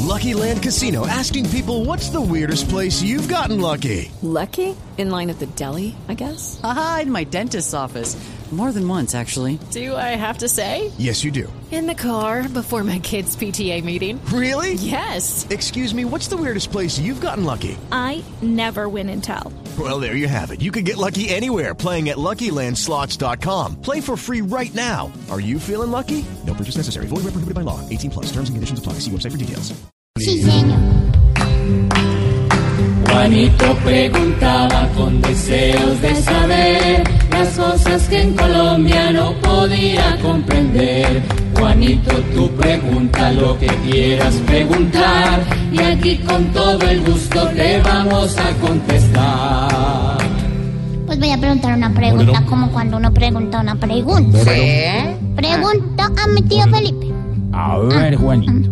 Lucky Land Casino, asking people, what's the weirdest place you've gotten lucky? Lucky? In line at the deli, I guess? Aha, in my dentist's office. More than once, actually. Do I have to say? Yes, you do. In the car before my kids' PTA meeting. Really? Yes. Excuse me, what's the weirdest place you've gotten lucky? I never win and tell. Well, there you have it. You can get lucky anywhere, playing at LuckyLandSlots.com. Play for free right now. Are you feeling lucky? No purchase necessary. Void where prohibited by law. 18 plus. Terms and conditions apply. See website for details. Sí, señor. Juanito preguntaba con deseos de saber las cosas que en Colombia no podía comprender. Juanito, tú pregunta lo que quieras preguntar y aquí con todo el gusto te vamos a contestar. Pues voy a preguntar una pregunta, como cuando uno pregunta una pregunta. ¿Sí? Pregunta a mi tío Felipe. A ver, Juanito.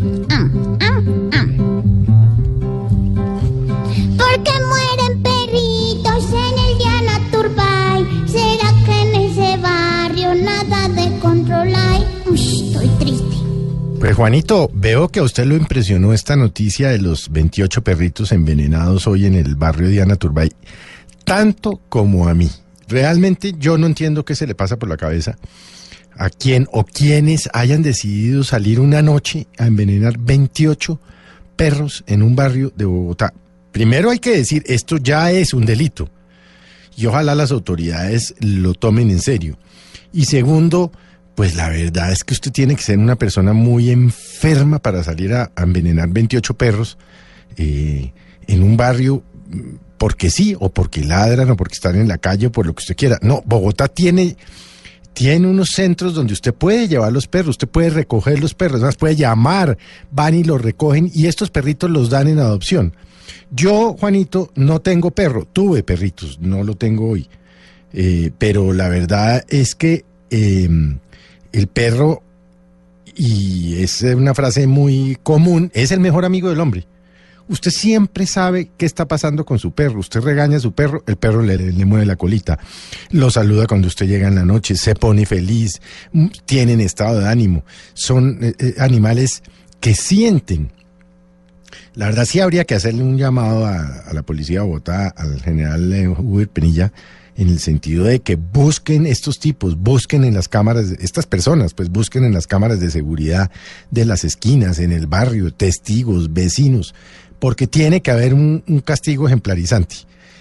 ¿Por qué mueren perritos en el Diana Turbay? ¿Será que en ese barrio nada de control hay? Estoy triste. Pues Juanito, veo que a usted lo impresionó esta noticia de los 28 perritos envenenados hoy en el barrio Diana Turbay, tanto como a mí. Realmente yo no entiendo qué se le pasa por la cabeza a quién o quienes hayan decidido salir una noche a envenenar 28 perros en un barrio de Bogotá. Primero hay que decir, esto ya es un delito y ojalá las autoridades lo tomen en serio. Y segundo, pues la verdad es que usted tiene que ser una persona muy enferma para salir a envenenar 28 perros en un barrio porque sí, o porque ladran, o porque están en la calle, o por lo que usted quiera. No, Bogotá tiene unos centros donde usted puede llevar los perros, usted puede recoger los perros, además puede llamar, van y los recogen y estos perritos los dan en adopción. Yo, Juanito, no tengo perro, tuve perritos, no lo tengo hoy, pero la verdad es que el perro, y es una frase muy común, es el mejor amigo del hombre. Usted siempre sabe qué está pasando con su perro. Usted regaña a su perro, el perro le mueve la colita, lo saluda cuando usted llega en la noche, se pone feliz, tienen estado de ánimo. Son animales que sienten. La verdad sí habría que hacerle un llamado a la policía de Bogotá, al general Huber Penilla, en el sentido de que busquen estos tipos, busquen en las cámaras, estas personas, pues busquen en las cámaras de seguridad de las esquinas, en el barrio, testigos, vecinos, porque tiene que haber un castigo ejemplarizante.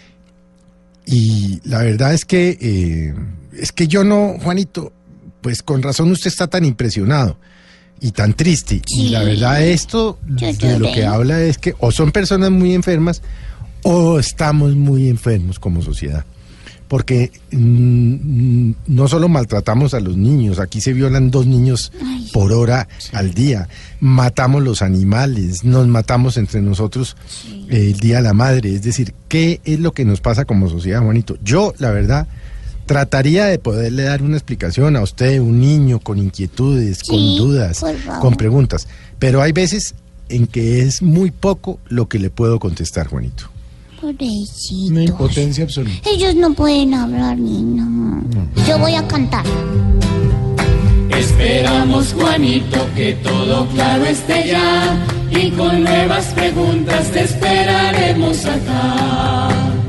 Y la verdad es que yo no, Juanito, pues con razón usted está tan impresionado y tan triste. Sí. Y la verdad esto de lo que habla es que o son personas muy enfermas o estamos muy enfermos como sociedad. Porque no solo maltratamos a los niños, aquí se violan 2 niños por hora al día, matamos los animales, nos matamos entre nosotros el Día de la Madre, es decir, ¿qué es lo que nos pasa como sociedad, Juanito? Yo, la verdad, trataría de poderle dar una explicación a usted, un niño con inquietudes, con dudas, con preguntas, pero hay veces en que es muy poco lo que le puedo contestar, Juanito. Pobrecitos. Una impotencia absoluta. Ellos no pueden hablar ni no. Yo voy a cantar. Esperamos, Juanito, que todo claro esté ya y con nuevas preguntas te esperaremos acá.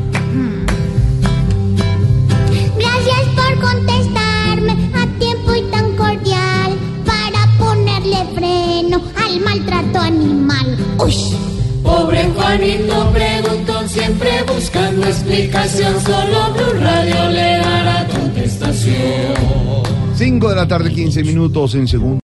Gracias por contestarme a tiempo y tan cordial para ponerle freno al maltrato animal. Uy. Pobre Juanito preguntó, siempre buscando explicación, solo Blue Radio le dará contestación. 5 de la tarde, 15 minutos en segundo.